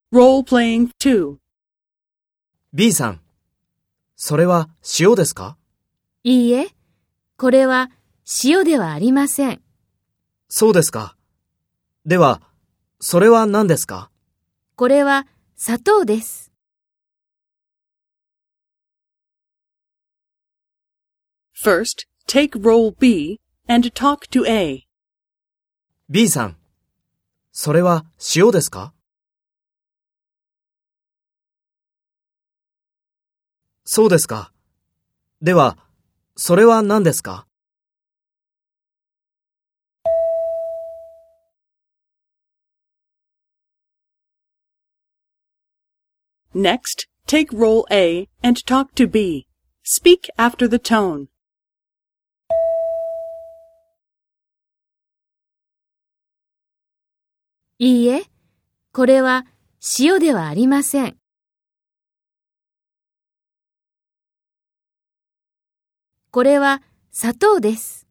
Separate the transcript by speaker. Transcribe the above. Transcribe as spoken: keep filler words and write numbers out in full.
Speaker 1: Role-playing two.
Speaker 2: B さん、それは塩ですか？
Speaker 3: いいえ、これは塩ではありません。
Speaker 2: そうですか。では、それは何ですか？
Speaker 3: これは砂糖です。
Speaker 1: First, take role B and talk to A.
Speaker 2: B さん、それは塩ですか？そうですか。では、それは何ですか？
Speaker 1: Next, take role A and talk to B. Speak after the tone.
Speaker 3: いいえ、これは塩ではありません。これは砂糖です。